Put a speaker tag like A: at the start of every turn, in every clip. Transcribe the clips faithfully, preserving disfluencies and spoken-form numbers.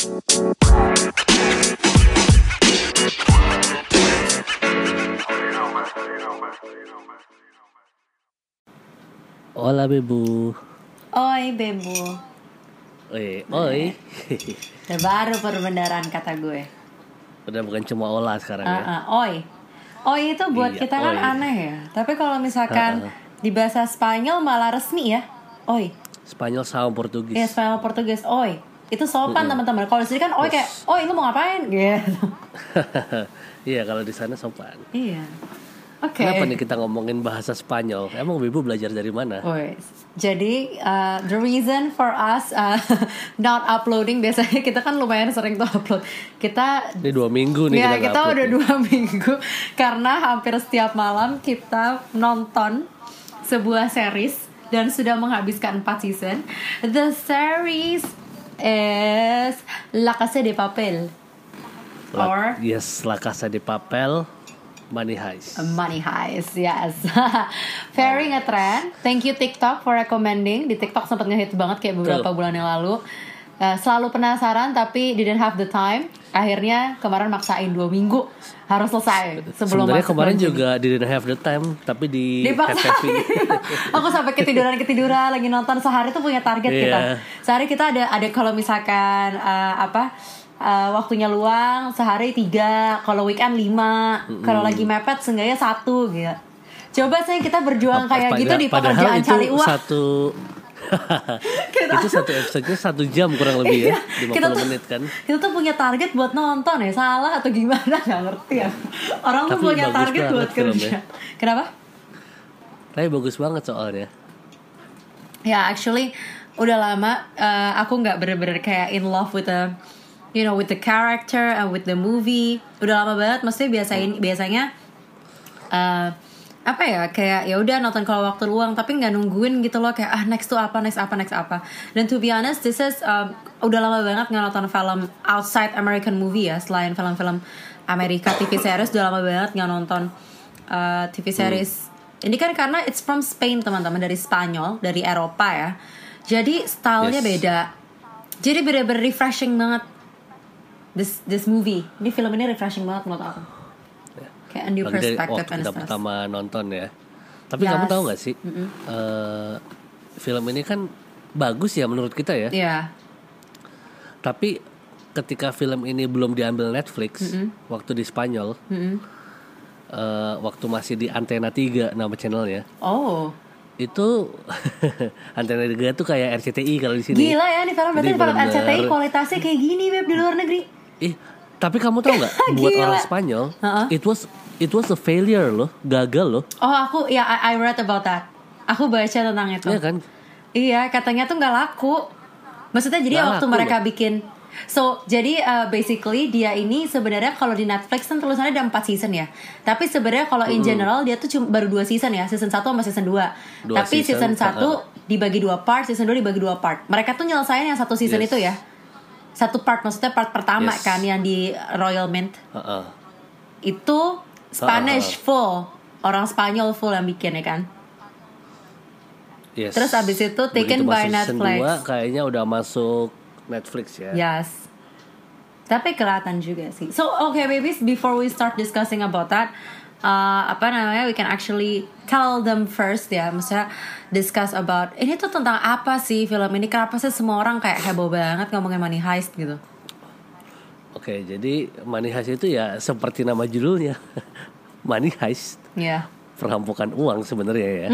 A: Hola Bebu.
B: Oi Bebu.
A: Oi, oi.
B: Udah baru perbendaharaan kata gue.
A: Udah bukan cuma olah sekarang
B: uh,
A: ya.
B: uh, Oi. Oi itu buat
A: Iya,
B: kita kan
A: oi.
B: aneh ya. Tapi kalau misalkan
A: Uh-uh.
B: di bahasa Spanyol malah resmi ya. Oi.
A: Spanyol sama Portugis.
B: Iya, Spanyol Portugis. Oi. Itu sopan
A: Mm-mm.
B: teman-teman. Kalau di sini kan oi kayak, oi lu mau ngapain? Gitu.
A: Iya, kalau di sana sopan.
B: Iya. Oke. Okay.
A: Kenapa nih kita ngomongin bahasa Spanyol? Emang Bebu belajar dari mana?
B: Oi. Jadi uh, the reason for us uh, not uploading, biasanya kita kan lumayan sering tuh upload. Kita
A: Ini dua minggu nih
B: ya,
A: kita
B: kita
A: upload
B: udah
A: nih.
B: dua minggu karena hampir setiap malam kita nonton sebuah series dan sudah menghabiskan empat season. The series is La Casa de Papel.
A: La,
B: Or
A: yes, La Casa de Papel, Money Heist.
B: Money Heist, yes. Very ngetrend. Thank you TikTok for recommending. Di TikTok sempat ngehit banget kayak beberapa
A: Tuh.
B: bulan yang lalu. Uh, selalu penasaran tapi didn't have the time. Akhirnya kemarin maksain dua minggu harus selesai sebelum
A: Sebenarnya
B: masuk
A: kemarin
B: nanti.
A: juga didn't have the time, tapi di
B: Dipaksain. Aku sampai ketiduran ketiduran lagi nonton. Sehari tuh punya target
A: Yeah.
B: kita. Sehari kita ada ada kalau misalkan uh, apa uh, waktunya luang sehari tiga, kalau weekend lima, mm-hmm. kalau lagi mepet seenggaknya satu gitu. Coba saya kita berjuang kayak
A: Pada-
B: gitu di
A: padahal
B: pekerjaan
A: itu
B: cari uang.
A: Satu itu satu episode-nya satu jam kurang lebih ya, lima
B: kita
A: puluh
B: tuh,
A: menit kan.
B: Kita tuh punya target buat nonton ya, salah atau gimana nggak ngerti ya. Orang tuh
A: Tapi
B: punya
A: bagus
B: target
A: banget
B: buat kerja.
A: filmnya.
B: Kenapa?
A: Tapi bagus banget soalnya.
B: Ya, actually udah lama uh, aku nggak bener-bener kayak in love with the, you know, with the character and with the movie. Udah lama banget, maksudnya biasain biasanya uh, apa ya, kayak ya udah nonton kalau waktu luang, tapi nggak nungguin gitu loh, kayak ah next tuh apa, next apa, next apa. Dan to be honest, this is um, udah lama banget nggak nonton film outside American movie ya, selain film-film Amerika. T V series udah lama banget nggak nonton uh, T V series. Hmm. Ini kan karena it's from Spain teman-teman, dari Spanyol, dari Eropa ya. Jadi stylenya
A: Yes.
B: beda. Jadi bener-bener refreshing banget. This this movie, ini film ini refreshing banget menurut aku. Kayak a new
A: Lagi dari
B: perspective
A: waktu
B: and
A: kita
B: stuff.
A: pertama nonton ya. Tapi
B: Yes.
A: kamu tahu nggak sih, uh, film ini kan bagus ya menurut kita ya.
B: Iya.
A: Tapi ketika film ini belum diambil Netflix,
B: Mm-mm.
A: waktu di Spanyol,
B: Mm-mm.
A: uh, waktu masih di Antena tiga nama channelnya,
B: Oh,
A: itu Antena tiga tuh kayak R C T I kalau di sini.
B: gila ya nih film, berarti
A: Jadi
B: film R C T I
A: bener-bener-
B: kualitasnya kayak gini Beb di luar negeri.
A: Ih, tapi kamu tahu nggak, buat
B: Gila.
A: orang Spanyol,
B: Uh-uh.
A: it was it was a failure loh, gagal loh,
B: Oh, aku ya I, I read about that. Aku baca tentang itu.
A: ya kan?
B: Iya, katanya tuh nggak laku. Maksudnya jadi
A: Nggak
B: waktu
A: laku
B: mereka
A: loh.
B: bikin, so jadi uh, basically dia ini sebenarnya kalau di Netflix kan tulisannya ada empat season ya. Tapi sebenarnya kalau in general dia tuh cuma baru dua season ya, season satu sama season dua.
A: Dua
B: Tapi
A: season,
B: season satu
A: uh-uh.
B: dibagi dua part, season dua dibagi dua part. Mereka tuh nyelesain yang satu season
A: Yes.
B: itu ya. Satu part, maksudnya part pertama
A: Yes.
B: kan yang di Royal Mint.
A: Uh-uh.
B: Itu Spanish full, orang Spanyol full yang bikin ya kan.
A: Yes.
B: Terus abis itu taken
A: Begitu
B: by
A: masuk season
B: Netflix.
A: dua, kayaknya udah masuk Netflix ya.
B: Yes. Tapi kelihatan juga sih. So okay babies, before we start discussing about that, uh, apa namanya, we can actually tell them first ya, maksudnya discuss about ini tuh tentang apa sih film ini, kenapa sih semua orang kayak heboh banget ngomongin Money Heist gitu.
A: Oke, jadi Money Heist itu ya seperti nama judulnya, Money Heist,
B: Ya.
A: perampokan uang sebenarnya ya.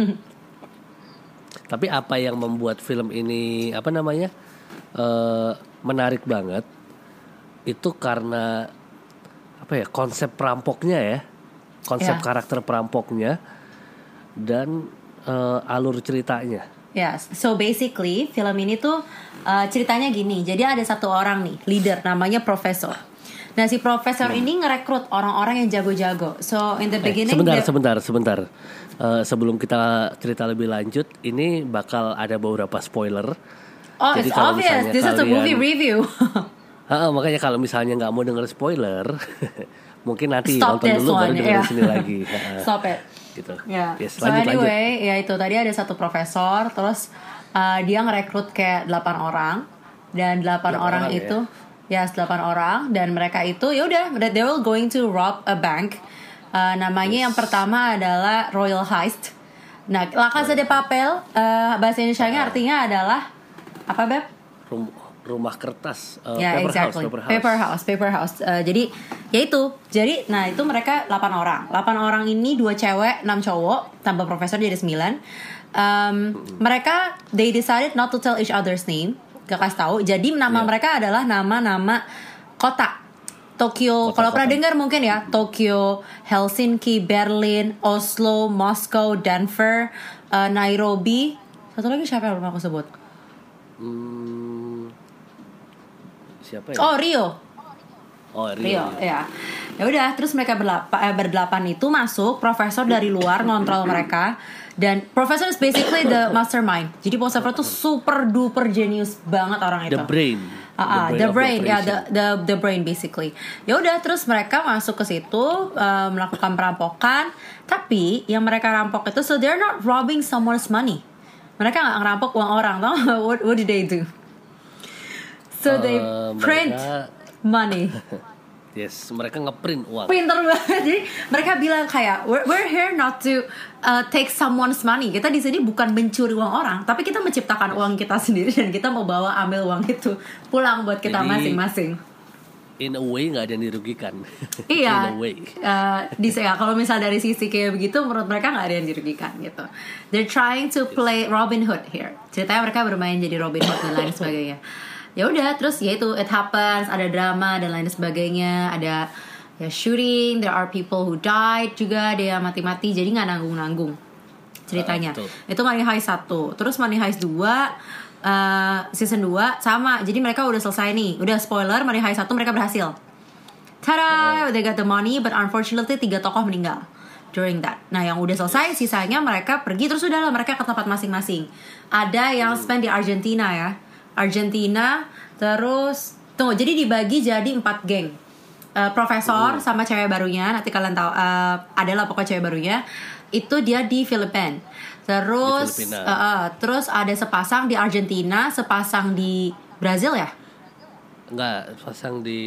A: Tapi apa yang membuat film ini apa namanya uh, menarik banget itu karena apa ya, konsep perampoknya ya, konsep
B: Ya.
A: karakter perampoknya dan uh, alur ceritanya.
B: Yes, so basically film ini tuh uh, ceritanya gini. Jadi ada satu orang nih, leader, namanya Profesor. Nah si Profesor
A: Hmm.
B: ini ngerekrut orang-orang yang jago-jago. So in the
A: Eh,
B: beginning
A: sebentar,
B: dia-
A: sebentar, sebentar. Uh, sebelum kita cerita lebih lanjut, ini bakal ada beberapa spoiler.
B: Oh,
A: Jadi
B: it's
A: kalau
B: obvious.
A: misalnya
B: This is a
A: kalian-
B: movie review.
A: Ha, makanya kalau misalnya nggak mau denger spoiler, mungkin nanti
B: Stop
A: nonton
B: this
A: dulu baru
B: one,
A: dengerin
B: yeah.
A: sini lagi. Ha,
B: Stop it.
A: gitu.
B: Ya.
A: Yes,
B: So
A: lanjut, lanjut.
B: anyway, ya itu tadi ada satu profesor, terus uh, dia ngerekrut kayak delapan orang dan delapan orang,
A: orang
B: itu ya yes, delapan orang dan mereka itu ya udah they will going to rob a bank. Uh, namanya yes. yang pertama adalah Royal Heist. Nah, La Casa de Papel uh, bahasa Indonesianya uh, artinya adalah apa, Beb?
A: Rum, rumah kertas, uh,
B: yeah,
A: paper,
B: exactly.
A: house, paper house,
B: paper house, paper house. Uh, jadi ya itu. Jadi nah itu mereka delapan orang. delapan orang ini dua cewek, enam cowok, tambah profesor jadi sembilan. Um, hmm. Mereka they decided not to tell each other's name. Gak kasih tahu. Jadi nama yeah. mereka adalah nama-nama kota. Tokyo, kalau pernah dengar mungkin ya, Tokyo, Helsinki, Berlin, Oslo, Moskow, Denver, uh, Nairobi. Satu lagi siapa yang belum aku sebut?
A: Hmm, siapa ya?
B: Oh, Rio.
A: Oh, Rio.
B: Rio, ya. Ya udah, terus mereka berlapa, eh, berdelapan itu masuk, profesor dari luar ngontrol mereka. Dan profesor is basically the mastermind. Jadi profesor itu super duper genius banget orang itu.
A: The brain.
B: Uh, the brain, the brain ya yeah, the the the brain basically. Ya udah terus mereka masuk ke situ uh, melakukan perampokan. Tapi yang mereka rampok itu so they're not robbing someone's money. Mereka nggak ngerampok uang orang, tau? What what did they do? So uh, they print mereka... money.
A: Yes, mereka ngeprint uang.
B: Pinter banget. Jadi mereka bilang kayak we're, we're here not to uh, take someone's money. Kita di sini bukan mencuri uang orang, tapi kita menciptakan uang kita sendiri dan kita mau bawa ambil uang itu pulang buat kita Jadi, masing-masing.
A: In a way nggak ada yang dirugikan.
B: Iya.
A: In a way.
B: Uh, di ya kalau misal dari sisi kayak begitu, menurut mereka nggak ada yang dirugikan gitu. They're trying to play Robin Hood here. Ceritanya mereka bermain jadi Robin Hood dan lain sebagainya. Ya udah terus ya itu it happens, ada drama dan lain sebagainya, ada ya shooting, there are people who died juga, ada yang mati-mati, jadi nggak nanggung-nanggung ceritanya. Uh, itu Money Heist satu, terus Money Heist dua uh, season dua sama, jadi mereka udah selesai nih, udah spoiler Money Heist satu mereka berhasil. Tada, uh. they got the money, but unfortunately tiga tokoh meninggal during that. Nah yang udah selesai sisanya mereka pergi terus udah lah mereka ke tempat masing-masing. Ada yang spend di Argentina ya. Argentina, terus tunggu jadi dibagi jadi empat geng. Uh, profesor uh. sama cewek barunya, nanti kalian tahu uh, adalah pokoknya cewek barunya itu dia di Filipina. Terus di uh, uh, terus ada sepasang di Argentina, sepasang di Brazil ya?
A: Enggak, sepasang di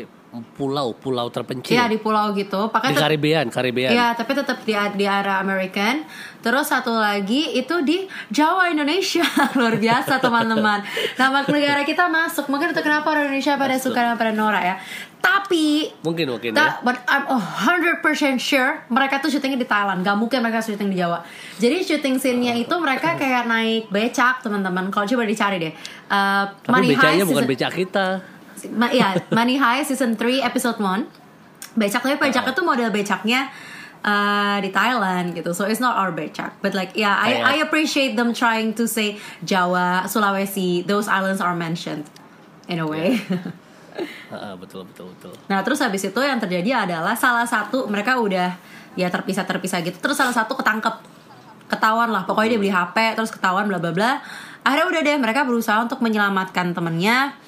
A: pulau-pulau terpencil.
B: Iya di pulau gitu. Pakai
A: di Karibian, Karibian.
B: Iya, tapi tetap di di area American. Terus satu lagi itu di Jawa Indonesia. Luar biasa teman-teman. Nama negara kita masuk. Mungkin itu kenapa orang Indonesia pada masuk. Suka pada Nora ya. Tapi
A: mungkin mungkin
B: ta-
A: ya.
B: But I'm one hundred percent sure mereka tuh syutingnya di Thailand. Gak mungkin mereka syuting di Jawa. Jadi syuting scene-nya itu mereka kayak naik becak teman-teman. Kalau coba dicari deh. Uh,
A: Tapi becaknya bukan becak kita.
B: Ma- ya, Money Heist season three episode one. Becak tapi becaknya tuh model becaknya uh, di Thailand gitu. So it's not our becak. But like yeah, I I appreciate them trying to say Jawa, Sulawesi, those islands are mentioned in a way.
A: Yeah. uh, betul betul betul.
B: Nah, terus habis itu yang terjadi adalah salah satu mereka udah ya terpisah-terpisah gitu. Terus salah satu ketangkep. Ketahuan lah, pokoknya dia beli H P terus ketahuan bla bla bla. Akhirnya udah deh mereka berusaha untuk menyelamatkan temennya.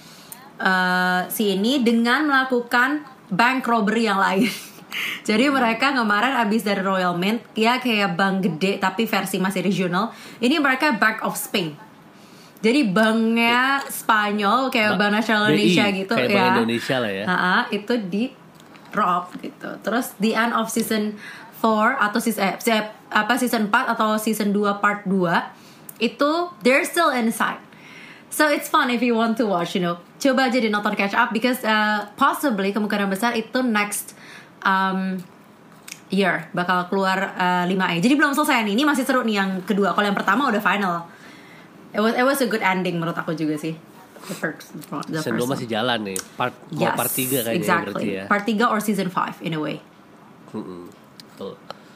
B: Uh, si ini dengan melakukan bank robbery yang lain. Jadi mereka kemarin abis dari Royal Mint, ya kayak bank gede tapi versi masih regional. Ini mereka Bank of Spain. Jadi banknya Spanyol kayak ba- Bank Nasional Indonesia B I, gitu
A: kayak
B: ya.
A: Bank Indonesia lah ya.
B: Uh-huh, itu di rob gitu. Terus the end of season four atau season eh, apa season empat atau season two part two itu they're still inside. So it's fun if you want to watch, you know. Coba aja di nonton catch up because uh, possibly kemungkinan besar itu next um, year bakal keluar uh, lima E. Jadi belum selesai nih. Ini masih seru nih yang kedua. Kalau yang pertama udah final. It was it was a good ending menurut aku juga sih. The first, the
A: season two masih jalan nih. Part
B: yes,
A: part tiga kayaknya
B: exactly.
A: berarti ya.
B: Part tiga or season five in a way.
A: Mm-mm. Betul.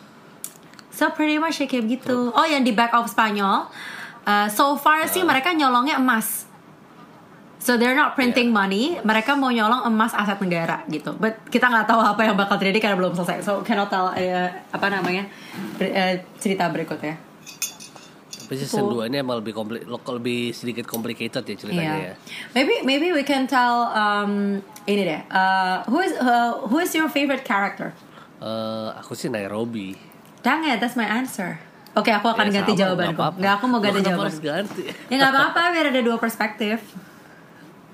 B: So pretty much kayak gitu. Oh yang di Back of Spanyol. Uh, so far uh. sih mereka nyolongnya emas. So they're not printing yeah. money. Mereka mau nyolong emas aset negara gitu. But kita nggak tahu apa yang bakal terjadi karena belum selesai. So cannot tell uh, apa namanya uh, cerita berikutnya.
A: Tapi season two ini emang lebih kompli- lebih sedikit complicated ya ceritanya yeah. ya.
B: Maybe maybe we can tell um, ini deh. Uh, who is uh, who is your favorite character?
A: Uh, aku sih Nairobi.
B: Dang it, that's my answer. Oke, okay, aku akan ya, ganti sama, jawabanku. Nggak, aku mau ganti jawaban.
A: Harus ganti.
B: Ya nggak apa-apa, biar ada dua perspektif.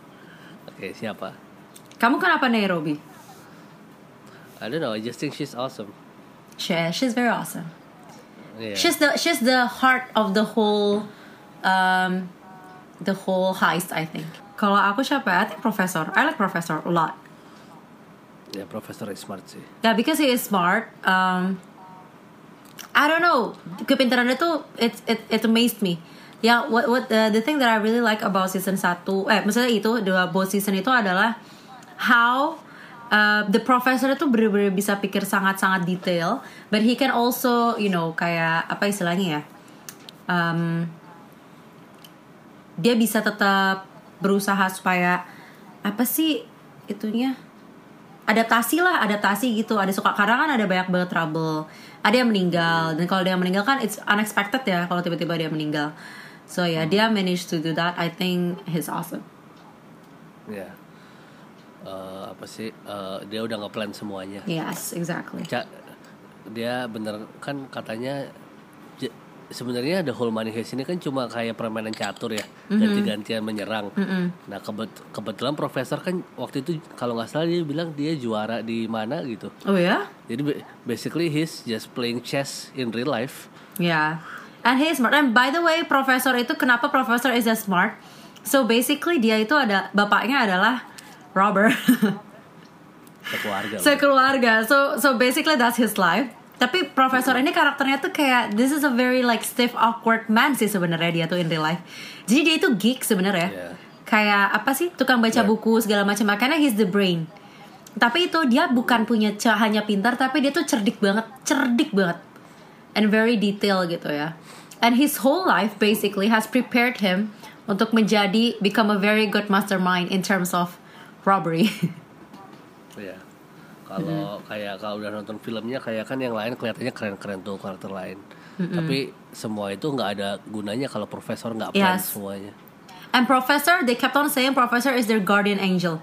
A: Oke, siapa?
B: Kamu kenapa Nairobi?
A: I don't know, I just think she's awesome.
B: She, she's very awesome.
A: Yeah.
B: She's the she's the heart of the whole um the whole heist, I think. Kalau aku siapa? I think Professor. I like Professor a lot.
A: Ya, Profesor is smart sih.
B: Yeah, because he is smart. Um, I don't know. Kepintarannya tuh it it it amazed me. Yeah, what what uh, the thing that I really like about season satu, eh maksudnya itu dua both season itu adalah how uh, the professor itu bener-bener bisa pikir sangat-sangat detail, but he can also, you know, kayak apa istilahnya ya? Um, dia bisa tetap berusaha supaya apa sih itunya? Adaptasi lah, adaptasi gitu. Ada suka kadang kan ada banyak banget trouble. Ada yang meninggal, dan kalau dia meninggal kan it's unexpected ya kalau tiba-tiba dia meninggal. So yeah, dia managed to do that. I think he's awesome.
A: Ya. Yeah. Uh, apa sih? Uh, dia udah nge-plan semuanya.
B: Yes, exactly.
A: Ca- dia bener kan katanya j- sebenarnya the whole money heist ini kan cuma kayak permainan catur ya, mm-hmm. ganti-gantian menyerang. Mm-hmm. Nah kebet- kebetulan profesor kan waktu itu kalau nggak salah dia bilang dia juara di mana gitu.
B: Oh ya?
A: Jadi basically he's just playing chess in real life.
B: Yeah, and he's smart. And by the way, profesor itu kenapa profesor is a smart? So basically dia itu ada bapaknya adalah robber.
A: Sekeluarga.
B: Sekeluarga. So so basically that's his life. Tapi profesor ini karakternya tuh kayak this is a very like stiff awkward man sih sebenarnya dia tuh in real life. Jadi dia itu geek sebenarnya. Yeah. Kayak apa sih tukang baca yeah. buku segala macam, makanya he's the brain. Tapi itu dia bukan punya hanya pintar, tapi dia tuh cerdik banget, cerdik banget, and very detail gitu ya. And his whole life basically has prepared him untuk menjadi become a very good mastermind in terms of robbery.
A: Iya. Kalau mm-hmm. kayak kalau udah nonton filmnya kayak kan yang lain kelihatannya keren-keren tuh karakter lain. Mm-hmm. Tapi semua itu nggak ada gunanya kalau profesor nggak plan
B: yes.
A: semuanya.
B: And professor, they kept on saying professor is their guardian angel.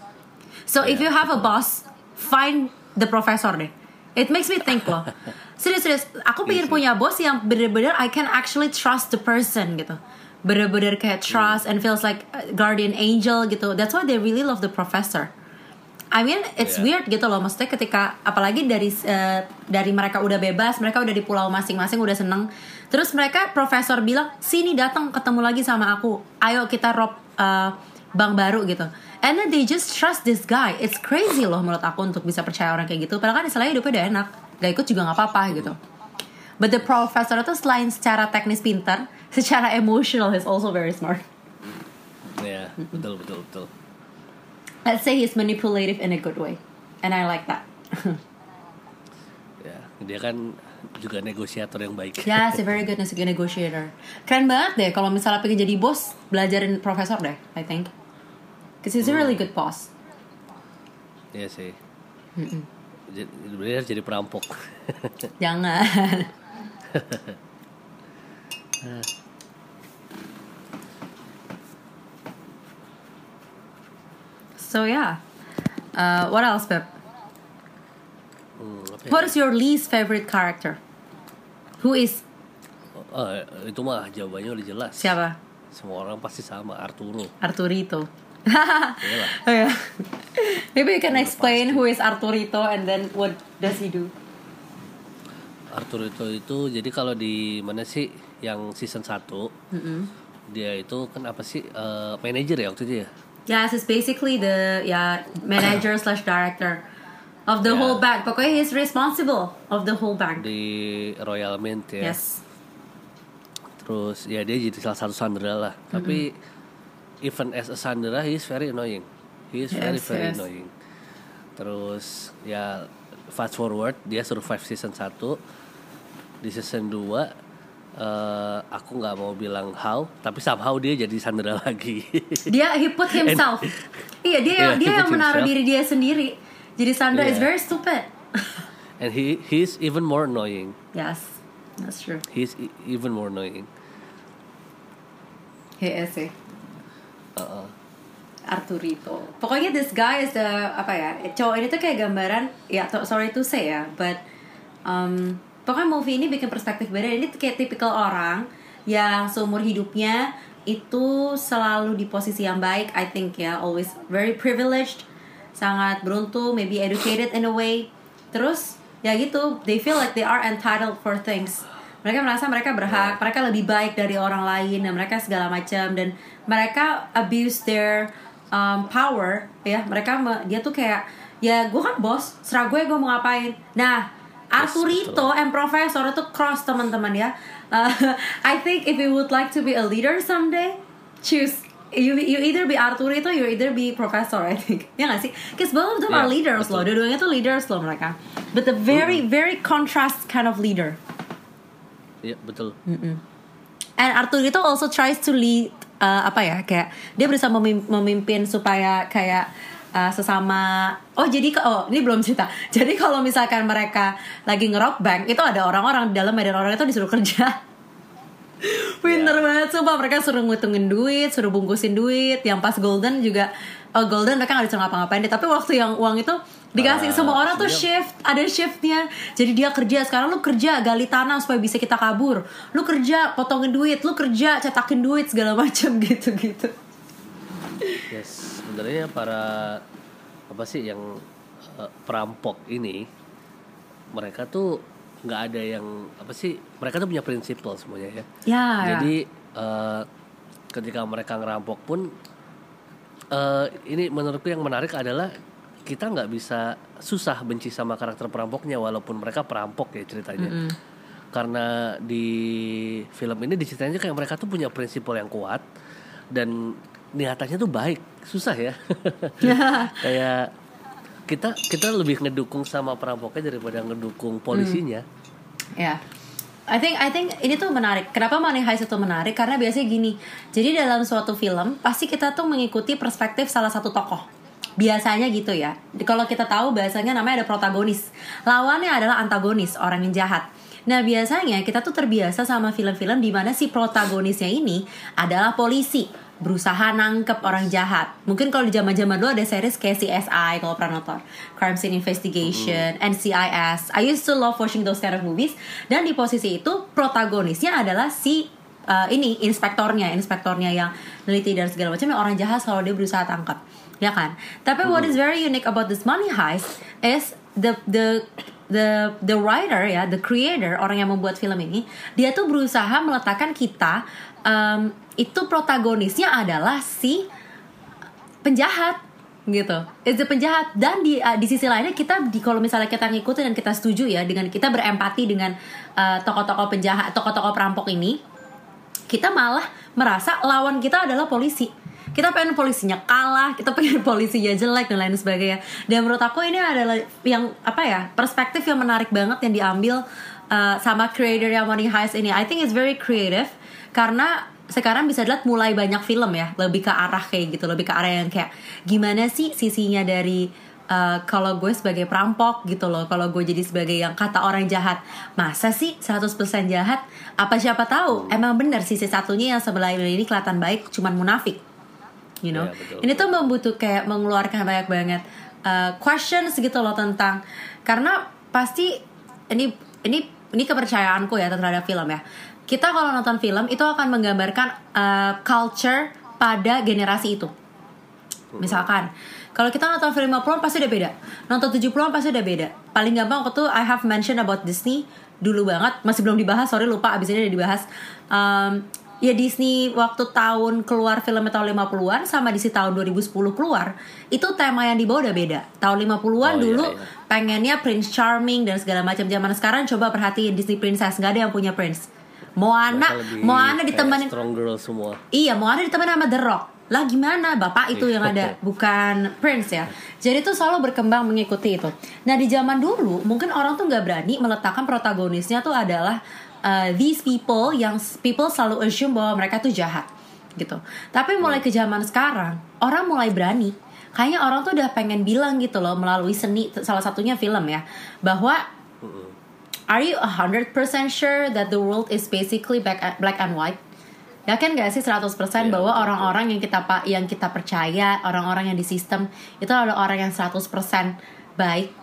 B: So yeah, if you have betul. a boss, find the professor deh. It makes me think loh. Serius-serius, aku pengen yes, punya bos yang bener-bener I can actually trust the person gitu. Bener-bener kayak trust mm. and feels like guardian angel gitu. That's why they really love the professor. I mean it's yeah. weird gitu loh, maksudnya ketika apalagi dari uh, dari mereka udah bebas, mereka udah di pulau masing-masing udah seneng, terus mereka profesor bilang sini datang ketemu lagi sama aku, ayo kita rob uh, bank baru gitu, and then they just trust this guy. It's crazy loh menurut aku untuk bisa percaya orang kayak gitu, padahal kan istilahnya hidupnya udah enak, gak ikut juga nggak apa-apa gitu. But the professor itu selain secara teknis pintar, secara emotional he's also very smart.
A: Ya, yeah, betul betul betul.
B: Let's say he's manipulative in a good way, and I like that.
A: Ya, dia kan juga negosiator yang baik.
B: Ya, yeah, he's a very good negotiator. Keren banget deh kalau misalnya pengen jadi bos, belajarin profesor deh, I think. Because he's a really good boss.
A: Iya sih. Dia jadi perampok.
B: Jangan. So yeah, uh, what else, Pep?
A: Hmm, okay.
B: What is your least favorite character? Who is?
A: Oh, itu mah jawabannya udah jelas.
B: Siapa?
A: Semua orang pasti sama, Arturo.
B: Arturito. Oh, yeah. Maybe you can explain who is Arturito and then what does he do?
A: Arturito itu jadi kalau di mana sih yang season satu, mm-hmm. dia itu kan apa sih uh, manager ya waktu itu ya?
B: Yes, it's basically the yeah manager slash director of the yeah. whole bank. Pokoknya he's responsible of the whole bank
A: di Royal Mint ya.
B: Yes.
A: Terus ya dia jadi salah satu sandera lah. Mm-hmm. Tapi even as a sandera, he is very annoying. He is yes, very very yes. annoying. Terus ya fast forward dia survive season satu. Di season dua uh, aku nggak mau bilang how, tapi somehow dia jadi sandera lagi. Dia
B: he put himself. Iya dia yeah, dia yang menaruh diri dia sendiri. Jadi sandera yeah. is very stupid.
A: And he he's even more annoying.
B: Yes, that's true.
A: He's e- even more annoying.
B: He is sih.
A: Uh-uh.
B: Arturito. Pokoknya this guy is the apa ya? Cowok ini tuh kayak gambaran. Ya, to, sorry to say ya, but um, pokoknya movie ini bikin perspektif beda. Ini kayak tipikal orang yang seumur hidupnya itu selalu di posisi yang baik, I think ya, always very privileged, sangat beruntung, maybe educated in a way. Terus ya gitu, they feel like they are entitled for things. Mereka merasa mereka berhak, mereka lebih baik dari orang lain dan mereka segala macam, dan mereka abuse their um, power ya. Mereka dia tuh kayak ya gue kan bos, serah gue gue mau ngapain. Nah, Arturito and Professor itu cross teman-teman ya. Uh, I think if you would like to be a leader someday, choose you you either be Arturito, you either be Professor. I think ya nggak sih? Because both of them yeah, are leaders loh. Dua-duanya tuh leaders loh mereka. But the very mm-hmm. very contrast kind of leader.
A: Iya yeah, betul.
B: Mm-mm. And Arturito also tries to lead uh, apa ya kayak dia berusaha memim- memimpin supaya kayak Uh, sesama oh jadi oh ini belum cerita. Jadi kalau misalkan mereka lagi nge-rock bank itu ada orang-orang di dalam dan orang itu disuruh kerja. Pinter yeah. banget sumpah, mereka suruh ngitungin duit, suruh bungkusin duit. Yang pas Golden juga oh Golden mereka nggak disuruh ngapa-ngapain deh. Tapi waktu yang uang itu dikasih uh, semua orang tuh shift, ada shiftnya. Jadi dia kerja, sekarang lu kerja gali tanah supaya bisa kita kabur. Lu kerja potongin duit, lu kerja cetakin duit segala macam gitu-gitu.
A: Yes, sebenarnya para apa sih yang uh, perampok ini mereka tuh nggak ada yang apa sih, mereka tuh punya prinsipal semuanya ya.
B: Ya.
A: Jadi uh, ketika mereka ngerampok pun uh, ini menurutku yang menarik adalah kita nggak bisa susah benci sama karakter perampoknya walaupun mereka perampok ya ceritanya. Mm-hmm. Karena di film ini diceritain kayak mereka tuh punya prinsipal yang kuat dan niatannya tuh baik, susah ya. Kayak kita kita lebih ngedukung sama perampoknya daripada ngedukung polisinya.
B: Ya, yeah. I think I think ini tuh menarik. Kenapa Money Heist itu menarik? Karena biasanya gini. Jadi dalam suatu film pasti kita tuh mengikuti perspektif salah satu tokoh. Biasanya gitu ya. Kalau kita tahu biasanya namanya ada protagonis. Lawannya adalah antagonis, orang yang jahat. Nah biasanya kita tuh terbiasa sama film-film di mana si protagonisnya ini adalah polisi, berusaha nangkep orang jahat. Mungkin kalau di zaman-zaman dulu ada series kayak C S I kalau pernah nonton, Crime Scene Investigation, mm. N C I S. I used to love watching those kind of movies. Dan di posisi itu protagonisnya adalah si uh, ini inspektornya, inspektornya yang neliti dan segala macam, yang orang jahat selalu dia berusaha tangkap, ya kan? Tapi mm. what is very unique about this Money Heist is the the the the writer ya, the creator, orang yang membuat film ini, dia tuh berusaha meletakkan kita um, itu protagonisnya adalah si penjahat gitu, it's the penjahat. Dan di uh, di sisi lainnya kita di kalau misalnya kita ngikutin dan kita setuju ya dengan kita berempati dengan uh, tokoh-tokoh penjahat, tokoh-tokoh perampok ini, kita malah merasa lawan kita adalah polisi. Kita pengen polisinya kalah, kita pengen polisinya jelek dan lain sebagainya. Dan menurut aku ini adalah yang apa ya, perspektif yang menarik banget yang diambil uh, sama creator yang Money Heist ini. I think it's very creative karena sekarang bisa dilihat mulai banyak film ya lebih ke arah kayak gitu, lebih ke arah yang kayak gimana sih sisinya dari uh, kalau gue sebagai perampok gitu loh, kalau gue jadi sebagai yang kata orang jahat, masa sih seratus persen jahat? Apa siapa tahu emang benar sisi satunya yang sebelah ini kelihatan baik cuman munafik. You know, ya, betul, ini tuh membutuhkan kayak mengeluarkan banyak banget uh, questions gitu loh tentang, karena pasti ini ini ini kepercayaanku ya terhadap film ya. Kita kalau nonton film itu akan menggambarkan uh, culture pada generasi itu. Misalkan kalau kita nonton film lima puluhan pasti udah beda, nonton tujuh puluhan pasti udah beda. Paling gampang waktu tuh I have mentioned about Disney dulu banget, masih belum dibahas, sorry lupa, abis ini udah dibahas. Um, Ya Disney waktu tahun keluar filmnya tahun lima puluhan sama Disney tahun dua ribu sepuluh keluar, itu tema yang dibawa udah beda. Tahun lima puluhan oh, dulu iya, iya. pengennya Prince Charming dan segala macam. Zaman sekarang coba perhatiin Disney Princess, gak ada yang punya Prince. Moana, Moana ditemenin
A: strong girl semua.
B: Iya, Moana ditemenin sama The Rock. Lah gimana bapak itu yang ada, bukan Prince ya. Jadi tuh selalu berkembang mengikuti itu. Nah di zaman dulu mungkin orang tuh gak berani meletakkan protagonisnya tuh adalah Uh, these people yang people selalu assume bahwa mereka tuh jahat gitu. Tapi mulai ke zaman sekarang orang mulai berani. Kayaknya orang tuh udah pengen bilang gitu loh melalui seni, salah satunya film ya, bahwa are you one hundred percent sure that the world is basically black, black and white? Yakin gak sih seratus persen yeah, bahwa betul. Orang-orang yang kita yang kita percaya, orang-orang yang di sistem itu adalah orang yang seratus persen baik,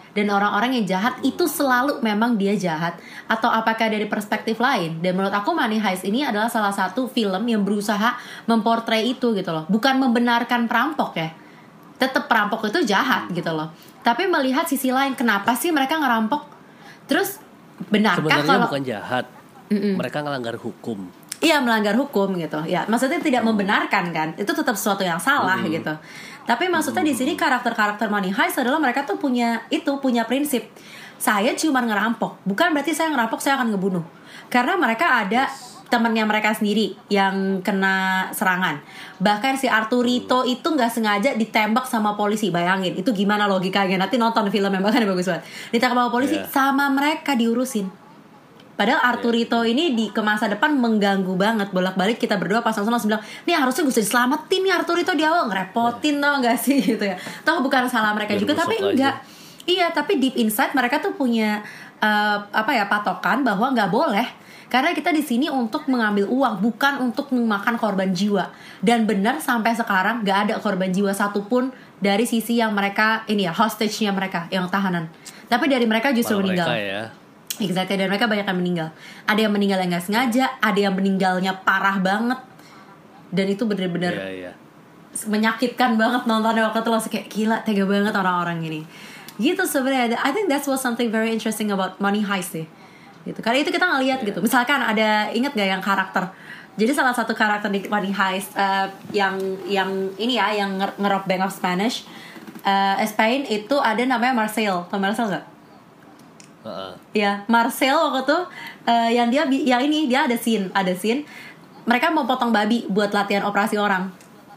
B: dan orang-orang yang jahat itu selalu memang dia jahat, atau apakah dari perspektif lain? Dan menurut aku Money Heist ini adalah salah satu film yang berusaha memportray itu gitu loh, bukan membenarkan perampok ya, tetap perampok itu jahat gitu loh, tapi melihat sisi lain, kenapa sih mereka ngerampok, terus benarkah
A: sebenarnya
B: kalau
A: bukan jahat, Mm-mm. mereka ngelanggar hukum.
B: Iya, melanggar hukum gitu. Ya, maksudnya tidak membenarkan kan. Itu tetap sesuatu yang salah hmm. gitu. Tapi maksudnya di sini karakter-karakter Money Heist adalah mereka tuh punya itu, punya prinsip. Saya cuma ngerampok, bukan berarti saya ngerampok saya akan ngebunuh. Karena mereka ada temannya mereka sendiri yang kena serangan. Bahkan si Arturito itu nggak sengaja ditembak sama polisi. Bayangin, itu gimana logikanya? Nanti nonton film yang bahkan bagus banget. Ditembak sama polisi, yeah. sama mereka diurusin. Padahal Arturito ini di ke masa depan mengganggu banget, bolak-balik kita berdua pas langsung bilang, nih harusnya gue diselamatin nih Arturito di awal, ngerepotin tau gak sih gitu ya. Toh bukan salah mereka juga, tapi enggak. Iya, tapi deep inside mereka tuh punya uh, apa ya patokan bahwa nggak boleh. Karena kita di sini untuk mengambil uang, bukan untuk memakan korban jiwa. Dan benar sampai sekarang nggak ada korban jiwa satupun dari sisi yang mereka ini ya hostage-nya mereka yang tahanan. Tapi dari mereka justru
A: Malah
B: meninggal.
A: Mereka ya.
B: Exactly, dan mereka banyak yang meninggal. Ada yang meninggal yang gak sengaja, ada yang meninggalnya parah banget. Dan itu bener-bener
A: yeah, yeah.
B: menyakitkan banget nontonnya waktu itu. Langsung kayak gila, tega banget orang-orang ini. Gitu sebenarnya. I think that's was something very interesting about Money Heist sih. Gitu. Karena itu kita ngeliat yeah. gitu. Misalkan ada, inget gak yang karakter? Jadi salah satu karakter di Money Heist uh, yang yang ini ya, yang ngerob Bank of Spanish, uh, Spain itu ada namanya Marcel. Tau Marcel gak? Uh-uh. Ya, Marcel waktu tuh uh, yang dia yang ini dia ada scene, ada scene mereka mau potong babi buat latihan operasi orang.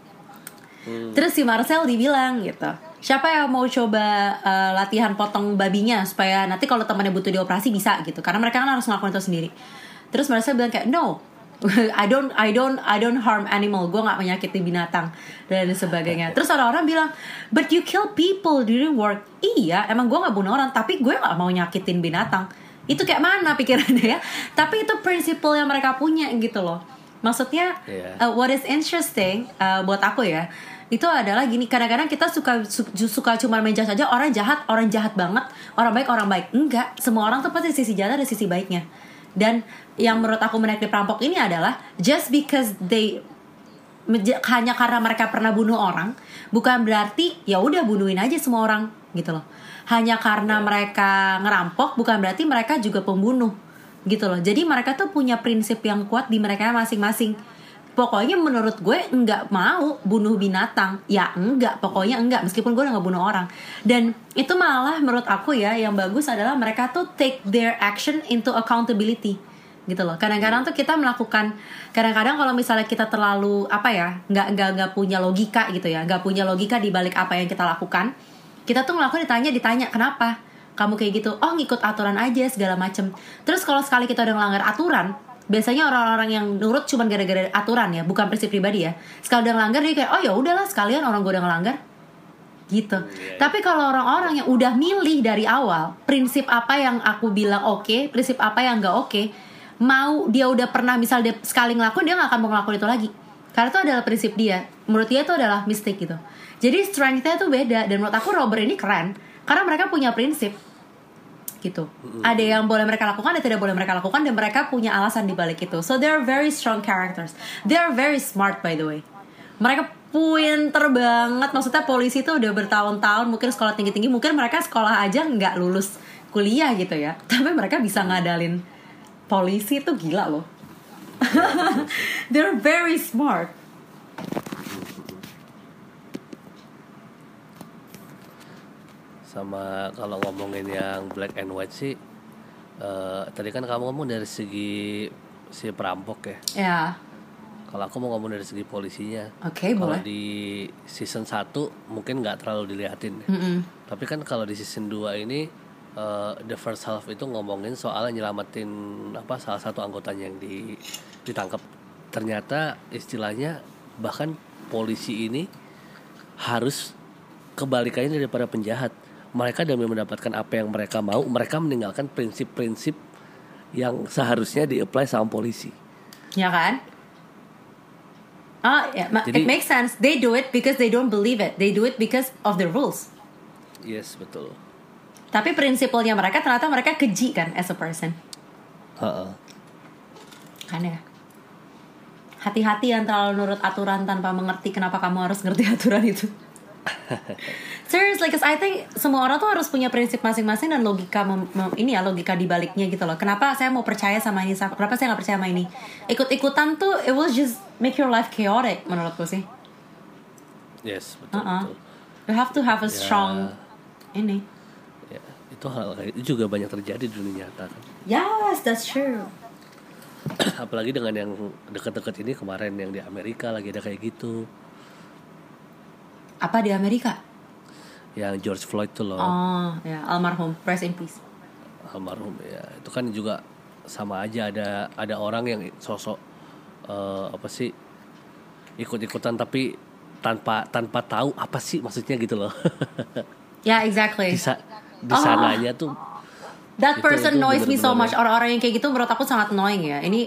B: Hmm. Terus si Marcel dibilang gitu, siapa yang mau coba uh, latihan potong babinya supaya nanti kalau temannya butuh dioperasi bisa gitu, karena mereka kan harus ngelakuin itu sendiri. Terus Marcel bilang kayak no, I don't I don't I don't harm animal, gue nggak menyakiti binatang dan sebagainya. Terus orang-orang bilang, but you kill people during work. Iya, emang gue nggak bunuh orang, tapi gue nggak mau nyakitin binatang. Itu kayak mana pikirannya ya? Tapi itu prinsipal yang mereka punya gitu loh. Maksudnya, yeah. uh, what is interesting uh, buat aku ya, itu adalah gini, kadang-kadang kita suka su- suka cuma menjudge saja orang jahat, orang jahat banget, orang baik orang baik. Enggak, semua orang tuh pasti sisi jahat ada sisi baiknya. Dan yang menurut aku menarik di perampok ini adalah just because they hanya karena mereka pernah bunuh orang, bukan berarti ya udah bunuhin aja semua orang gitu loh. Hanya karena mereka ngerampok bukan berarti mereka juga pembunuh gitu loh. Jadi mereka tuh punya prinsip yang kuat di mereka masing-masing. Pokoknya menurut gue nggak mau bunuh binatang, ya enggak, pokoknya enggak, meskipun gue udah nggak bunuh orang. Dan itu malah menurut aku ya yang bagus adalah mereka tuh take their action into accountability gitu loh. Kadang-kadang tuh kita melakukan, kadang-kadang kalau misalnya kita terlalu apa ya, nggak nggak nggak punya logika gitu ya, nggak punya logika di balik apa yang kita lakukan, kita tuh ngelakuin ditanya ditanya kenapa kamu kayak gitu, oh ngikut aturan aja segala macem. Terus kalau sekali kita udah ngelanggar aturan, biasanya orang-orang yang nurut cuma gara-gara aturan ya, bukan prinsip pribadi ya. Sekali udah ngelanggar dia kayak, oh ya udahlah sekalian orang gue udah ngelanggar gitu. Yeah. Tapi kalau orang-orang yang udah milih dari awal prinsip apa yang aku bilang oke, okay, prinsip apa yang nggak oke, okay, mau dia udah pernah misal dia sekali ngelakuin, dia nggak akan mau ngelakuin itu lagi. Karena itu adalah prinsip dia. Menurut dia itu adalah mistake gitu. Jadi strength-nya tuh beda. Dan menurut aku robber ini keren karena mereka punya prinsip gitu. Mm-hmm. Ada yang boleh mereka lakukan, ada tidak boleh mereka lakukan, dan mereka punya alasan di balik itu. So they're very strong characters. They're very smart by the way. Mereka pinter banget. Maksudnya polisi tuh udah bertahun-tahun, mungkin sekolah tinggi-tinggi, mungkin mereka sekolah aja nggak lulus kuliah gitu ya. Tapi mereka bisa ngadalin polisi tuh gila loh. They're very smart.
A: Sama kalau ngomongin yang black and white sih, uh, tadi kan kamu ngomong dari segi si perampok ya.
B: Ya.
A: Kalau aku mau ngomong dari segi polisinya.
B: Oke, okay, boleh.
A: Kalau di season satu mungkin nggak terlalu dilihatin.
B: Mm-mm.
A: Tapi kan kalau di season dua ini, uh, the first half itu ngomongin soal nyelamatin apa salah satu anggotanya yang di, ditangkap. Ternyata istilahnya bahkan polisi ini harus kebalikannya daripada penjahat. Mereka demi mendapatkan apa yang mereka mau, mereka meninggalkan prinsip-prinsip yang seharusnya di-apply sama polisi.
B: Ya kan? Ah, yeah, it makes sense. They do it because they don't believe it. They do it because of the rules.
A: Yes, betul.
B: Tapi prinsipalnya mereka ternyata mereka keji kan as a person.
A: Uh-uh.
B: Kan ya. Hati-hati yang terlalu nurut aturan tanpa mengerti kenapa kamu harus ngerti aturan itu. Seriously, because I think semua orang tuh harus punya prinsip masing-masing dan logika mem- mem- ini ya logika di baliknya gitu loh. Kenapa saya mau percaya sama ini? Kenapa saya nggak percaya sama ini? Ikut-ikutan tuh it will just make your life chaotic menurutku sih.
A: Yes, betul,
B: Uh-uh.
A: betul.
B: You have to have a strong
A: Ya.
B: ini.
A: Ya, itu hal kayak itu juga banyak terjadi di dunia nyata kan.
B: Yes, that's true.
A: Apalagi dengan yang dekat-dekat ini kemarin yang di Amerika lagi ada kayak gitu.
B: Apa di Amerika?
A: Yang George Floyd tuh loh.
B: Oh, ya, almarhum, rest in peace.
A: Almarhum ya. Itu kan juga sama aja ada ada orang yang sosok uh, apa sih ikut-ikutan tapi tanpa tanpa tahu apa sih maksudnya gitu loh.
B: Ya, yeah, exactly.
A: Di, sa- di sananya oh. tuh
B: that
A: itu,
B: person
A: itu
B: annoys me so
A: bener-bener
B: much. Orang-orang yang kayak gitu menurut aku sangat annoying ya. Ini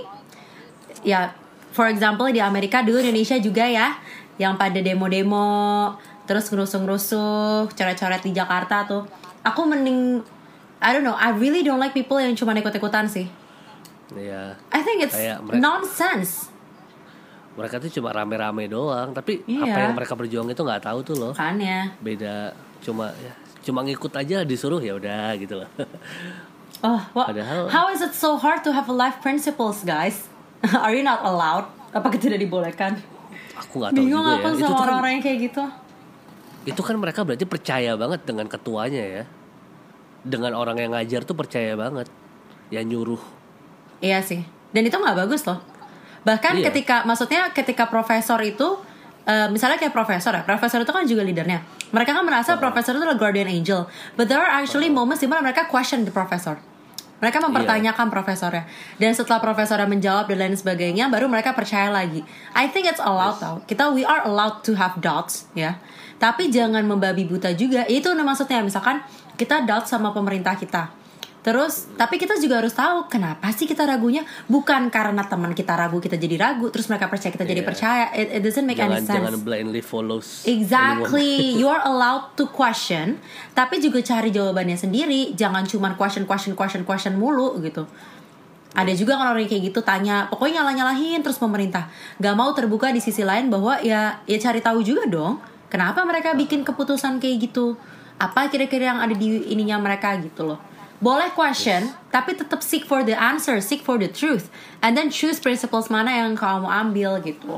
B: ya, for example di Amerika dulu, Indonesia juga ya, yang pada demo-demo terus ngerusuh-ngerusuh, coret-coret di Jakarta tuh. Aku mending I don't know, I really don't like people yang cuma ikut-ikutan sih.
A: Iya.
B: I think it's
A: mereka,
B: nonsense.
A: Mereka tuh cuma rame-rame doang, tapi
B: iya.
A: apa yang mereka berjuang itu nggak tahu tuh loh.
B: Kan ya.
A: Beda, cuma ya cuma ngikut aja disuruh ya udah gitu loh.
B: Oh, what,
A: Padahal,
B: how is it so hard to have life principles, guys? Are you not allowed? Apa tidak dibolehkan?
A: Aku nggak tahu
B: Bingung
A: juga
B: aku
A: ya.
B: sama
A: Itu
B: orang-orang
A: kan,
B: yang kayak gitu.
A: Itu kan mereka berarti percaya banget dengan ketuanya ya. Dengan orang yang ngajar tuh percaya banget. Ya nyuruh.
B: Iya sih. Dan itu nggak bagus loh. Bahkan iya. ketika, maksudnya ketika profesor itu, uh, misalnya kayak profesor ya, profesor itu kan juga leadernya. Mereka kan merasa uh-huh. profesor itu adalah guardian angel. But there are actually uh-huh. moments di mana mereka question the professor. Mereka mempertanyakan yeah. profesornya. Dan setelah profesornya menjawab dan lain sebagainya, baru mereka percaya lagi. I think it's allowed yes. tau. Kita, we are allowed to have doubts ya. Tapi jangan membabi buta juga. Itu maksudnya, misalkan kita doubt sama pemerintah kita. Terus, tapi kita juga harus tahu kenapa sih kita ragunya. Bukan karena teman kita ragu, kita jadi ragu. Terus mereka percaya, kita yeah. jadi percaya. It, it doesn't make
A: jangan,
B: any sense.
A: Jangan blindly follows
B: Exactly. You are allowed to question, tapi juga cari jawabannya sendiri. Jangan cuma question, question, question, question mulu gitu. Yeah. Ada juga kan orang kayak gitu tanya, pokoknya nyalah-nyalahin terus pemerintah. Gak mau terbuka di sisi lain bahwa ya, ya cari tahu juga dong. Kenapa mereka bikin keputusan kayak gitu? Apa kira-kira yang ada di ininya mereka gitu loh. Boleh question, yes. tapi tetap seek for the answer, seek for the truth, and then choose principles mana yang kamu ambil gitu.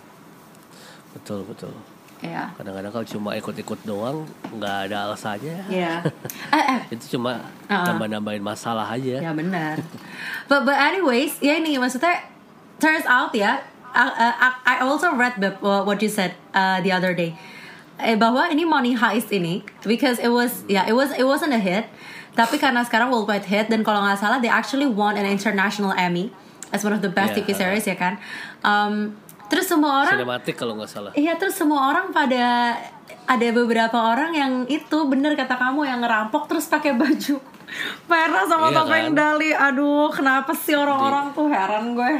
A: Betul betul.
B: Yeah.
A: Kadang-kadang kalau cuma ikut-ikut doang, nggak ada alasannya.
B: Yeah. eh, eh.
A: Itu cuma uh-uh. tambah-nambahin masalah aja.
B: Ya benar. but but anyways, ya ini maksudnya turns out ya, I, I, I also read what you said uh, the other day. Eh, bahwa ini Money Heist ini, because it was ya yeah, it was it wasn't a hit. Tapi karena sekarang worldwide hit, dan kalau nggak salah they actually won an international Emmy as one of the best yeah. T V series ya kan. Um, terus semua orang
A: sinematik kalau nggak salah.
B: Iya, terus semua orang pada, ada beberapa orang yang itu bener kata kamu yang ngerampok terus pakai baju merah sama iya topeng kan? Dali. Aduh, kenapa sih orang-orang di, tuh heran gue.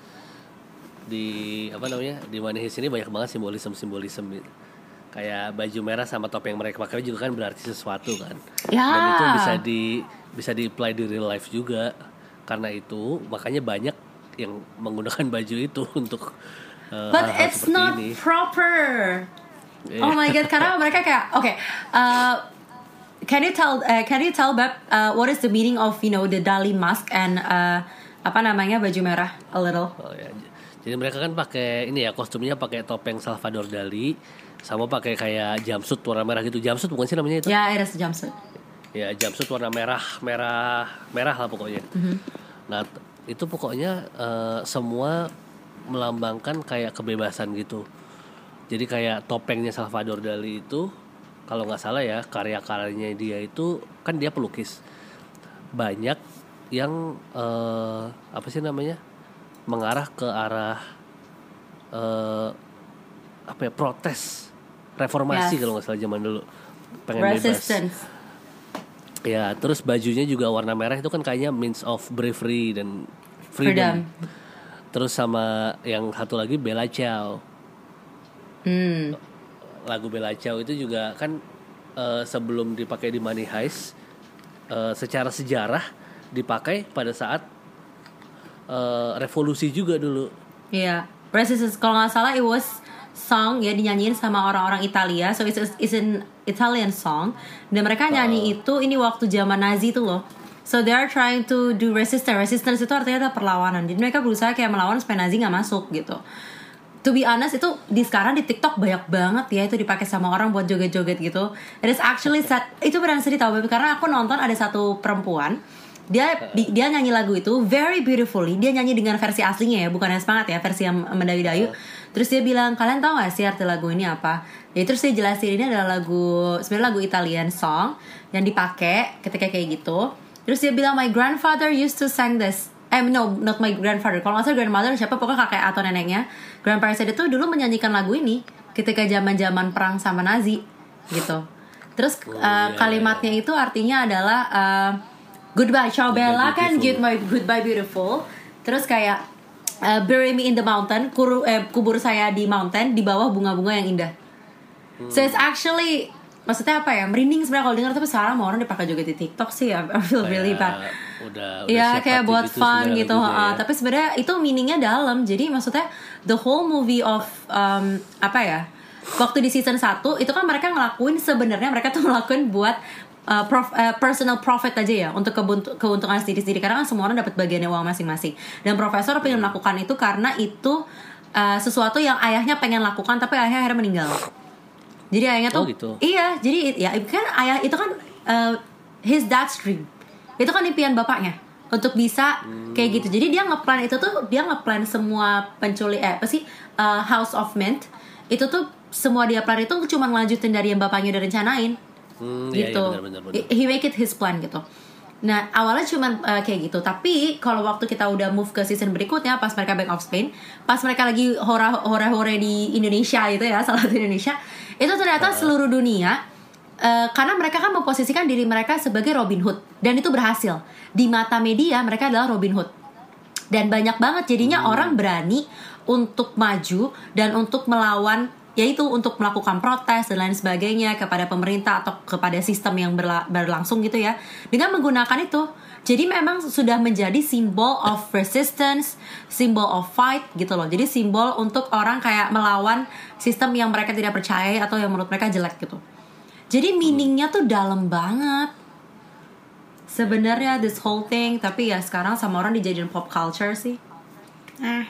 A: Di apa namanya di Money Heist ini banyak banget simbolisme-simbolisme gitu. Kayak baju merah sama topeng mereka pakai juga kan berarti sesuatu kan.
B: Ya.
A: Dan itu bisa di bisa di apply di real life juga. Karena itu makanya banyak yang menggunakan baju itu untuk uh,
B: But
A: hal-hal
B: it's
A: seperti
B: not
A: ini.
B: proper. Yeah. Oh my god, karena mereka kayak oke, okay, uh, can you tell uh, can you tell Beb uh, what is the meaning of you know the Dali mask and uh, apa namanya baju merah a little?
A: Oh, ya. Jadi mereka kan pakai ini ya, kostumnya pakai topeng Salvador Dali sama pakai kayak jumpsuit warna merah gitu. Jumpsuit bukan sih namanya itu?
B: Ya, ada jumpsuit.
A: Ya, jumpsuit warna merah, merah, merah lah pokoknya. Mm-hmm. Nah, itu pokoknya uh, semua melambangkan kayak kebebasan gitu. Jadi kayak topengnya Salvador Dali itu, kalau nggak salah ya, karya-karyanya dia itu kan dia pelukis. Banyak yang uh, apa sih namanya? mengarah ke arah uh, apa ya, protes, reformasi yes. kalau nggak salah zaman dulu, pengen
B: resistance.
A: Bebas. Ya, terus bajunya juga warna merah itu kan kayaknya means of bravery dan freedom. freedom. Terus sama yang satu lagi Bella Ciao.
B: Hmm.
A: Lagu Bella Ciao itu juga kan uh, sebelum dipakai di Money Heist uh, secara sejarah dipakai pada saat uh, revolusi juga dulu.
B: Iya, yeah. Resistance kalau nggak salah it was song ya dinyanyiin sama orang-orang Italia, so it's, it's an Italian song. Dan mereka nyanyi uh. itu ini waktu zaman Nazi tuh loh. So they are trying to do resistance. Resistance itu artinya adalah perlawanan. Jadi mereka berusaha kayak melawan supaya Nazi nggak masuk gitu. To be honest itu di sekarang di TikTok banyak banget ya itu dipakai sama orang buat joget-joget gitu. It is actually sad. Itu benar sedih tau baby karena aku nonton ada satu perempuan dia di, dia nyanyi lagu itu very beautifully. Dia nyanyi dengan versi aslinya ya, bukan yang semangat ya, versi yang mendayu-dayu. Terus dia bilang, kalian tahu gak sih arti lagu ini apa? Ya terus dia jelasin ini adalah lagu sebenarnya lagu Italian song yang dipakai ketika kayak gitu. Terus dia bilang my grandfather used to sing this. Eh no, not my grandfather. Kalau nggak salah grandmother siapa pokoknya kakek atau neneknya. Grandparents itu dulu menyanyikan lagu ini ketika zaman-zaman perang sama Nazi gitu. Terus oh, uh, yeah. kalimatnya itu artinya adalah uh, goodbye ciao bella kan goodbye goodbye beautiful. Terus kayak uh, bury me in the mountain, Kuru, eh, kubur saya di mountain di bawah bunga-bunga yang indah. Hmm. So it's actually maksudnya apa ya, merinding sebenarnya kalau dengar, tapi sekarang mau orang dipakai juga di TikTok sih. I feel kayak really bad.
A: Udah, udah
B: ya kayak buat fun gitu, uh,
A: ya.
B: Tapi sebenarnya itu meaningnya dalam. Jadi maksudnya the whole movie of um, apa ya, waktu di season satu itu kan mereka ngelakuin sebenarnya mereka tuh ngelakuin buat uh, prof, uh, personal profit aja ya, untuk kebuntu, keuntungan sendiri-sendiri karena kan semua orang dapat bagiannya uang masing-masing. Dan profesor pengen melakukan itu karena itu uh, sesuatu yang ayahnya pengen lakukan tapi ayahnya akhirnya meninggal. Jadi ayahnya tuh,
A: oh gitu.
B: Iya, jadi ya kan ayah itu kan uh, his dad's dream. Itu kan impian bapaknya untuk bisa hmm. kayak gitu. Jadi dia ngeplan itu tuh, dia ngeplan semua penculik eh apa sih uh, House of Mint itu tuh semua dia plan itu cuma ngelanjutin dari yang bapaknya udah rencanain. Hmm, gitu.
A: Iya, iya, benar, benar, benar.
B: He make it his plan gitu. Nah awalnya cuma uh, kayak gitu. Tapi kalau waktu kita udah move ke season berikutnya, pas mereka back of Spain, pas mereka lagi hore-hore di Indonesia itu ya, salah satu Indonesia, itu ternyata uh. seluruh dunia uh, karena mereka kan memposisikan diri mereka sebagai Robin Hood, dan itu berhasil di mata media. Mereka adalah Robin Hood, dan banyak banget jadinya hmm. orang berani untuk maju dan untuk melawan, yaitu untuk melakukan protes dan lain sebagainya kepada pemerintah atau kepada sistem yang berla- berlangsung gitu ya, dengan menggunakan itu. Jadi memang sudah menjadi simbol of resistance, simbol of fight gitu loh. Jadi simbol untuk orang kayak melawan sistem yang mereka tidak percaya atau yang menurut mereka jelek gitu. Jadi meaningnya tuh dalam banget sebenarnya this whole thing. Tapi ya sekarang sama orang dijadiin pop culture sih. Eh.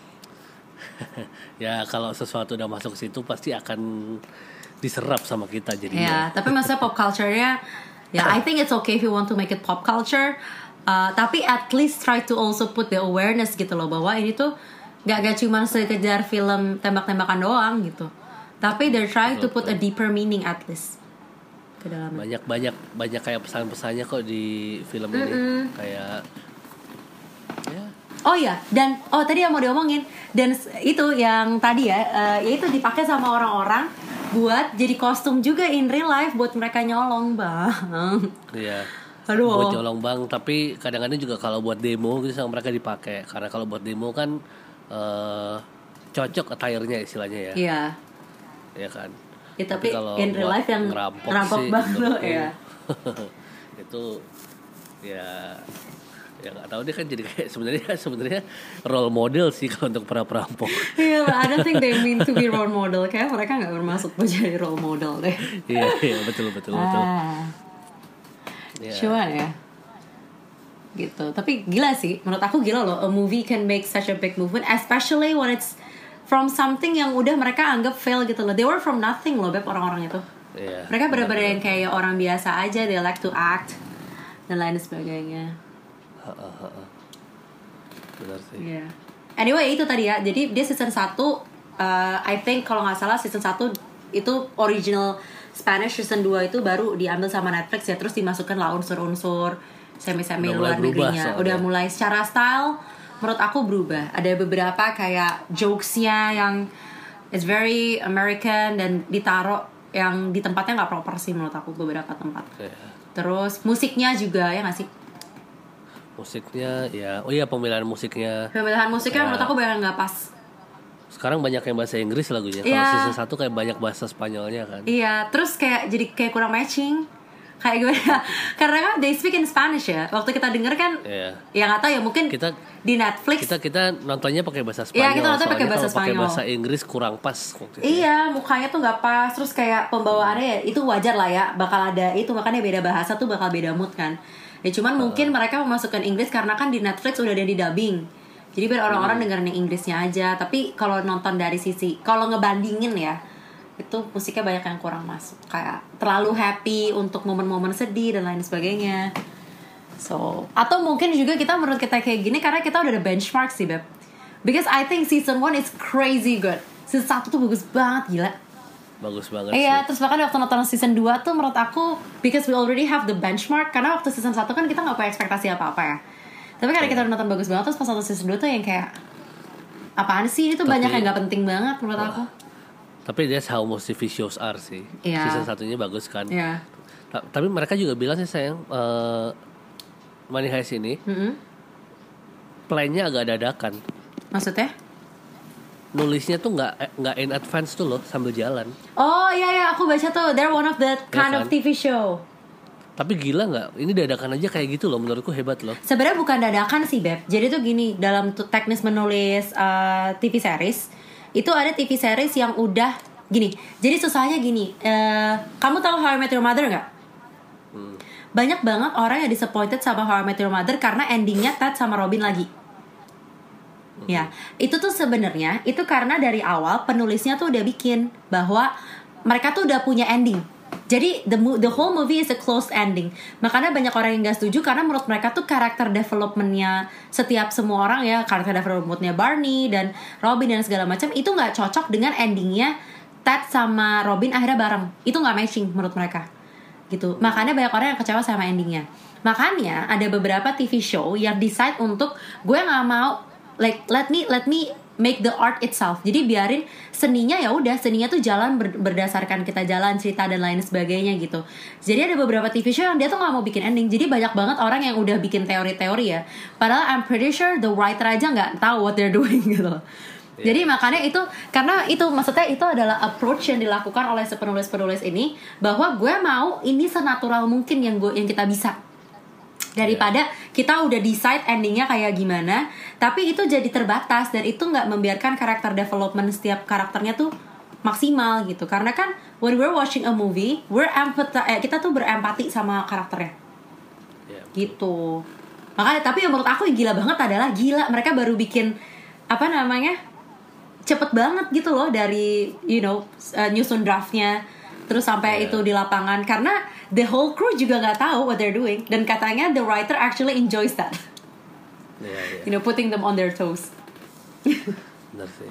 A: Ya kalau sesuatu udah masuk ke situ pasti akan diserap sama kita jadinya.
B: Ya, tapi maksudnya pop culture-nya ya, I think it's okay if you want to make it pop culture, uh, tapi at least try to also put the awareness gitu loh, bahwa ini tuh gak, gak cuma sekedar film tembak-tembakan doang gitu, tapi they're trying to put a deeper meaning at least ke dalamnya.
A: Banyak-banyak banyak kayak pesan-pesannya kok di film ini. Mm-hmm. Kayak ya.
B: Oh iya, dan oh tadi yang mau diomongin, dan itu yang tadi ya, uh, yaitu dipakai sama orang-orang buat jadi kostum juga in real life buat mereka nyolong bang.
A: Iya.
B: Aduh.
A: Buat nyolong bang, tapi kadang-kadang juga kalau buat demo gitu sama mereka dipakai, karena kalau buat demo kan uh, cocok attire-nya istilahnya ya.
B: Iya.
A: Iya kan.
B: Ya, tapi, tapi
A: kalau
B: in real life yang
A: ngerampok,
B: ngerampok
A: sih,
B: bang lo ya.
A: Itu ya. Ya nggak tahu, dia kan jadi kayak sebenarnya sebenarnya role model sih kalau untuk para perampok.
B: Iya, yeah, I don't think they mean to be role model. Kayak mereka nggak bermaksud buat jadi role model deh.
A: Iya iya betul betul betul.
B: Ah.
A: Yeah.
B: Cuman ya, gitu. Tapi gila sih, menurut aku gila loh. A movie can make such a big movement, especially when it's from something yang udah mereka anggap fail gitu loh. They were from nothing loh, beb, orang-orang itu.
A: Yeah.
B: Mereka benar-benar yang kayak orang biasa aja. They like to act dan lain sebagainya.
A: Benar sih.
B: Yeah. Anyway itu tadi ya. Jadi dia season satu, uh, I think kalau nggak salah season satu itu original Spanish, season dua itu baru diambil sama Netflix ya. Terus dimasukkan lah unsur-unsur semi-semi luar negerinya. Udah mulai secara style menurut aku berubah. Ada beberapa kayak jokes-nya yang it's very American dan ditaruh yang di tempatnya nggak proper sih menurut aku beberapa tempat. Yeah. Terus musiknya juga ya nggak sih?
A: Musiknya ya, oh iya pemilihan musiknya.
B: Pemilihan musiknya ya, menurut aku banyak nggak pas.
A: Sekarang banyak yang bahasa Inggris lagunya.
B: Ya.
A: Kalau season satu kayak banyak bahasa Spanyolnya kan.
B: Iya, terus kayak jadi kayak kurang matching. kayak gimana? Karena kan they speak in Spanish ya. Waktu kita denger kan,
A: yeah.
B: ya nggak tahu ya mungkin
A: kita
B: di Netflix.
A: Kita kita nontonnya pakai bahasa Spanyol.
B: Iya kita nonton pakai bahasa Spanyol.
A: Pakai bahasa Inggris kurang pas.
B: Iya mukanya tuh nggak pas. Terus kayak pembawaannya ya itu wajar lah ya. Bakal ada itu makanya beda bahasa tuh bakal beda mood kan. Ya cuman uh. mungkin mereka memasukkan Inggris karena kan di Netflix udah ada di dubbing. Jadi biar orang-orang hmm. dengerin yang Inggrisnya aja. Tapi kalau nonton dari sisi, kalau ngebandingin ya, itu musiknya banyak yang kurang masuk. Kayak terlalu happy untuk momen-momen sedih dan lain sebagainya. So, atau mungkin juga kita menurut kita kayak gini karena kita udah ada benchmark sih Beb. Because I think season one is crazy good. Season satu tuh bagus banget, gila.
A: Bagus banget
B: iya,
A: sih.
B: Terus bahkan waktu nonton season dua tuh menurut aku, because we already have the benchmark. Karena waktu season satu kan kita gak punya ekspektasi apa-apa ya. Tapi karena kita udah nonton bagus banget, terus pas nonton season dua tuh yang kayak apaan sih, ini tuh tapi, banyak yang gak penting banget menurut wah, aku.
A: Tapi that's how most T V shows are sih. Yeah. Season satunya bagus kan.
B: Yeah.
A: Ta- Tapi mereka juga bilang sih sayang, uh, Money Heist ini mm-hmm. plan-nya agak dadakan.
B: Maksudnya?
A: Nulisnya tuh nggak nggak in advance tuh loh, sambil jalan.
B: Oh iya iya, aku baca tuh, they're one of that kind ya kan? Of T V show.
A: Tapi gila nggak? Ini dadakan aja kayak gitu loh, menurutku hebat loh.
B: Sebenarnya bukan dadakan sih Beb. Jadi tuh gini, dalam tuh teknis menulis uh, T V series, itu ada T V series yang udah gini. Jadi susahnya gini. Uh, kamu tahu How I Met Your Mother nggak? Hmm. Banyak banget orang yang disappointed sama How I Met Your Mother karena endingnya Ted sama Robin lagi. Hmm. Ya, itu tuh sebenarnya itu karena dari awal penulisnya tuh udah bikin bahwa mereka tuh udah punya ending. Jadi the the whole movie is a closed ending. Makanya banyak orang yang gak setuju karena menurut mereka tuh karakter developmentnya setiap semua orang ya, karakter developmentnya Barney dan Robin dan segala macam itu nggak cocok dengan endingnya Ted sama Robin akhirnya bareng. Itu nggak matching menurut mereka. Gitu. Makanya banyak orang yang kecewa sama endingnya. Makanya ada beberapa T V show yang decide untuk gue nggak mau like let me let me make the art itself. Jadi biarin seninya ya udah, seninya tuh jalan ber, berdasarkan kita jalan cerita dan lain sebagainya gitu. Jadi ada beberapa T V show yang dia tuh nggak mau bikin ending. Jadi banyak banget orang yang udah bikin teori-teori ya. Padahal I'm pretty sure the writer aja nggak tahu what they're doing gitu. Yeah. Jadi makanya itu karena itu maksudnya itu adalah approach yang dilakukan oleh si penulis-penulis ini bahwa gue mau ini senatural mungkin yang gue yang kita bisa. Daripada yeah. kita udah decide endingnya kayak gimana, tapi itu jadi terbatas dan itu nggak membiarkan karakter development setiap karakternya tuh maksimal gitu. Karena kan when we're watching a movie, we're empathy, eh, kita tuh berempati sama karakternya, yeah. gitu. Makanya tapi yang menurut aku yang gila banget adalah gila mereka baru bikin apa namanya cepet banget gitu loh dari you know uh, nyusun draftnya. Terus sampai yeah. itu di lapangan karena the whole crew juga nggak tahu what they're doing dan katanya the writer actually enjoys that, yeah, yeah. you know putting them on their toes.
A: Benar sih.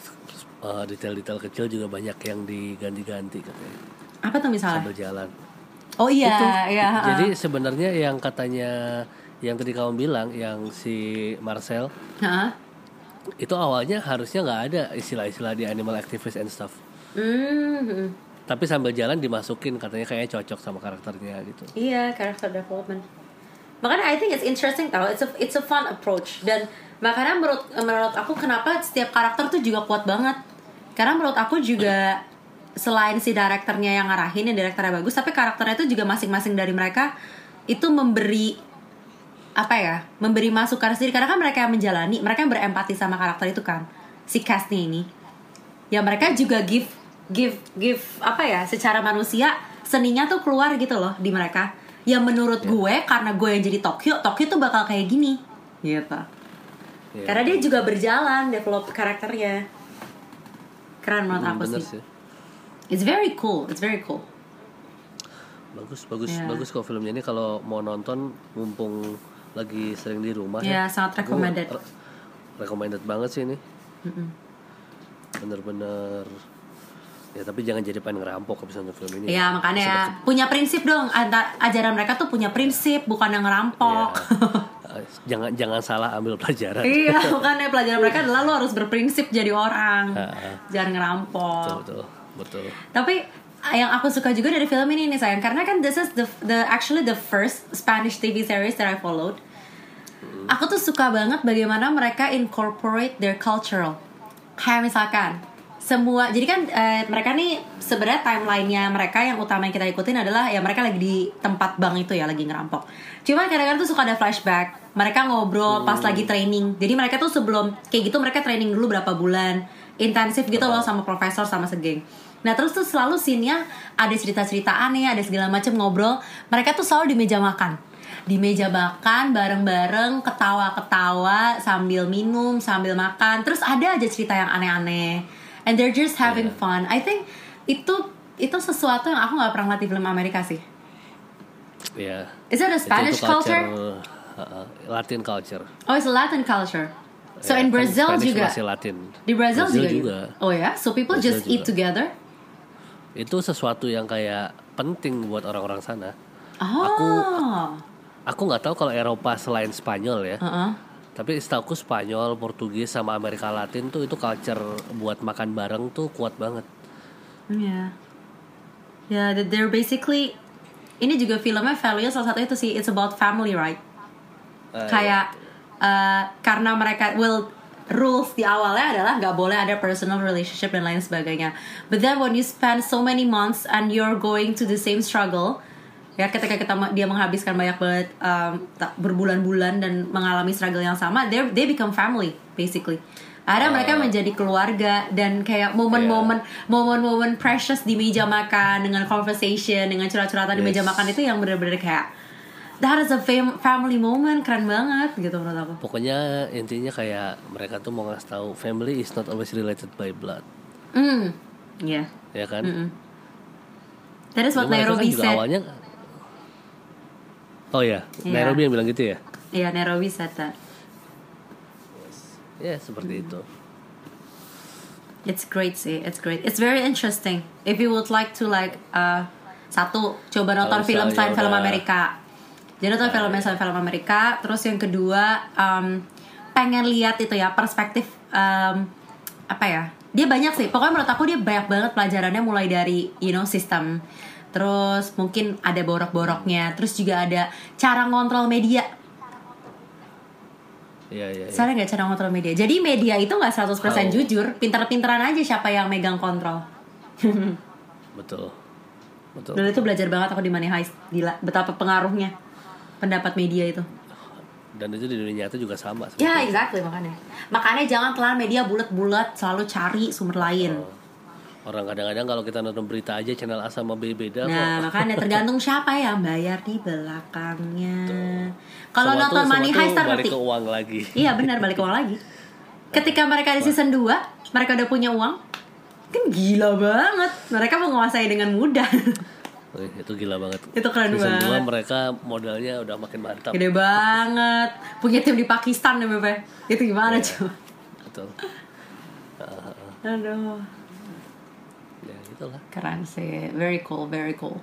A: Uh, detail-detail kecil juga banyak yang diganti-ganti katanya.
B: Apa tuh misalnya?
A: Sambil jalan.
B: Oh iya.
A: Itu,
B: iya
A: jadi sebenarnya yang katanya yang tadi kamu bilang yang si Marcel.
B: Uh-huh.
A: Itu awalnya harusnya nggak ada istilah-istilah di animal activist and stuff.
B: Mm-hmm.
A: Tapi sambil jalan dimasukin katanya kayaknya cocok sama karakternya gitu.
B: Iya, character development. Makanya I think it's interesting tau. It's a it's a fun approach dan makanya menurut menurut aku kenapa setiap karakter tuh juga kuat banget. Karena menurut aku juga selain si direkturnya yang ngarahin, yang direkturnya bagus, tapi karakternya itu juga masing-masing dari mereka itu memberi apa ya? Memberi masukan sendiri karena kan mereka yang menjalani, mereka yang berempati sama karakter itu kan. Si castnya ini. Ya mereka juga give give give apa ya secara manusia seninya tuh keluar gitu loh di mereka yang menurut yeah. gue karena gue yang jadi Tokyo Tokyo tuh bakal kayak gini gitu yeah. Karena dia juga berjalan develop karakternya keren menurut hmm, aku sih. sih it's very cool it's very cool
A: bagus bagus yeah. bagus kok filmnya ini kalau mau nonton mumpung lagi sering di rumah
B: yeah, ya sangat recommended
A: re- recommended banget sih ini. Mm-mm. Bener-bener. Ya tapi jangan jadi pengen ngerampok habis nonton film ini.
B: Iya makanya ya. Punya prinsip dong. Antar ajaran mereka tuh punya prinsip, bukan yang ngerampok.
A: Ya. jangan jangan salah ambil pelajaran.
B: Iya bukannya pelajaran mereka adalah lo harus berprinsip jadi orang, jangan ngerampok.
A: Betul betul betul.
B: Tapi yang aku suka juga dari film ini nih sayang, karena kan this is the the actually the first Spanish T V series that I followed. Hmm. Aku tuh suka banget bagaimana mereka incorporate their cultural. Kayak misalkan semua jadi kan uh, mereka nih sebenarnya timelinenya mereka yang utama yang kita ikutin adalah ya mereka lagi di tempat bank itu ya lagi ngerampok. Cuma kadang-kadang tuh suka ada flashback. Mereka ngobrol pas lagi training. Jadi mereka tuh sebelum kayak gitu mereka training dulu berapa bulan intensif gitu loh sama profesor sama segeng. Nah terus tuh selalu scene-nya ada cerita-cerita aneh, ada segala macam ngobrol. Mereka tuh selalu di meja makan. Di meja makan bareng-bareng ketawa-ketawa sambil minum sambil makan. Terus ada aja cerita yang aneh-aneh. And they're just having yeah. fun. I think itu itu sesuatu yang aku nggak pernah lihat di film Amerika sih.
A: Iya. Yeah.
B: Is it a Spanish
A: itu, itu
B: culture?
A: culture? Uh, Latin culture.
B: Oh, it's a Latin culture. So
A: yeah,
B: in Brazil
A: kan
B: juga.
A: Masih Latin.
B: Di Brazil,
A: Brazil
B: juga.
A: juga.
B: Oh ya, yeah? So people Brazil just juga. Eat together.
A: Itu sesuatu yang kayak penting buat orang-orang sana.
B: Oh.
A: Aku aku nggak tahu kalau Eropa selain Spanyol ya. Uh-uh. Tapi setahuku Spanyol, Portugis sama Amerika Latin tuh itu culture buat makan bareng tuh kuat banget.
B: Yeah. Yeah, they're basically ini juga filmnya value salah satu itu sih, it's about family, right? Uh, Kayak uh, karena mereka well rules di awalnya adalah nggak boleh ada personal relationship dan lain sebagainya. But then when you spend so many months and you're going to the same struggle, ya ketika kita dia menghabiskan banyak banget um, berbulan-bulan dan mengalami struggle yang sama, they they become family basically. Ada uh, mereka menjadi keluarga dan kayak momen-momen yeah. momen-momen precious di meja makan dengan conversation dengan curhat-curhatan yes. di meja makan itu yang benar-benar kayak that is a fam- family moment, keren banget gitu menurut aku.
A: Pokoknya intinya kayak mereka tuh mau ngasih tahu family is not always related by blood.
B: Hmm, iya.
A: Yeah. Ya kan?
B: Mm-mm. That is what Nairobi
A: kan
B: said.
A: Awalnya, oh ya, yeah. Nairobi yang bilang gitu ya?
B: Iya, yeah, Nairobi said that.
A: Ya yeah, seperti hmm. itu.
B: It's great sih, it's great. It's very interesting. If you would like to like uh, satu coba nonton film selain film Amerika. Jadi nonton film selain film Amerika. Terus yang kedua um, pengen lihat itu ya perspektif um, apa ya? Dia banyak sih. Pokoknya menurut aku dia banyak banget pelajarannya mulai dari you know sistem. Terus mungkin ada borok-boroknya. Terus juga ada cara ngontrol media.
A: Iya, iya, iya.
B: Soalnya gak cara ngontrol media. Jadi media itu gak seratus persen oh. jujur. Pinter-pinteran aja siapa yang megang kontrol.
A: Betul. Betul.
B: Dan itu belajar banget aku di Money Heist. Gila, betapa pengaruhnya pendapat media itu.
A: Dan itu di dunia nyata juga sama.
B: Ya, yeah, exactly makanya. Makanya jangan telan media bulat-bulat. Selalu cari sumber lain.
A: Oh. Orang kadang-kadang kalau kita nonton berita aja channel A sama B beda.
B: Nah kok. Makanya tergantung siapa yang bayar di belakangnya. Kalau nonton Money Heist
A: balik ke uang lagi.
B: Iya benar, balik ke uang lagi. Ketika mereka di season dua, mereka udah punya uang, kan gila banget. Mereka menguasai dengan mudah.
A: Wih, itu gila banget.
B: Itu keren
A: season
B: banget.
A: dua mereka modalnya udah makin mantap.
B: Gede banget. Punya tim di Pakistan ya Bebe. Itu gimana
A: yeah.
B: coba?
A: Betul. Uh,
B: Aduh.
A: Ya itulah.
B: Keren sih. Very cool, very cool.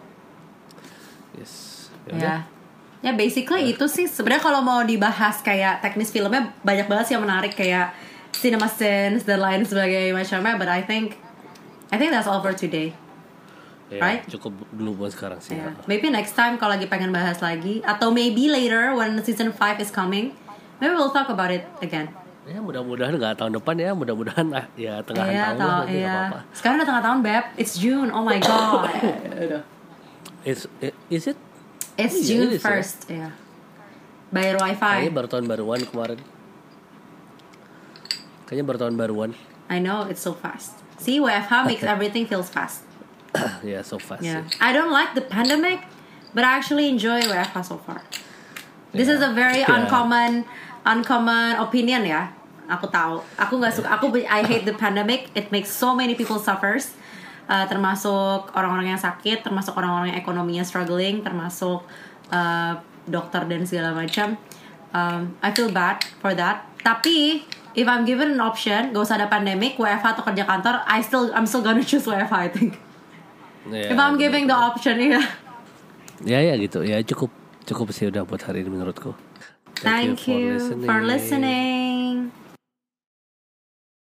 A: Yes.
B: Ya. Yeah. Ya basically yeah. itu sih. Sebenarnya kalau mau dibahas kayak teknis filmnya banyak banget sih yang menarik kayak cinema scenes dan lain sebagainya macamnya. But I think I think that's all for today.
A: Yeah,
B: right?
A: Cukup dulu buat sekarang sih.
B: Yeah. Maybe next time kalau lagi pengen bahas lagi atau maybe later when season five is coming, maybe we'll talk about it again.
A: Ya mudah-mudahan nggak tahun depan ya, mudah-mudahan ya tengahan
B: yeah,
A: tahun lah,
B: iya.
A: nggak apa-apa.
B: Sekarang udah tengah tahun Beb, it's June, oh my god.
A: It's is it?
B: It's oh, June yeah, first, ya. Yeah. Bayar wifi.
A: Kayaknya baru tahun baruan kemarin. Kayaknya baru tahun baruan.
B: I know, it's so fast. See, W F H makes everything feels fast.
A: Yeah, so fast.
B: Yeah. I don't like the pandemic, but I actually enjoy W F H so far. This yeah. is a very yeah. uncommon, uncommon opinion ya. Aku tahu. Aku nggak suka. Aku I hate the pandemic. It makes so many people suffers. Uh, termasuk orang-orang yang sakit, termasuk orang-orang yang ekonominya struggling, termasuk uh, dokter dan segala macam. Um, I feel bad for that. Tapi if I'm given an option, gak usah ada pandemic, W F H atau kerja kantor, I still I'm still gonna choose W F H I think. Yeah, if I'm giving the option, ya.
A: Ya ya gitu, ya cukup cukup sih udah buat hari ini menurutku.
B: Thank, Thank you, you for listening. For listening.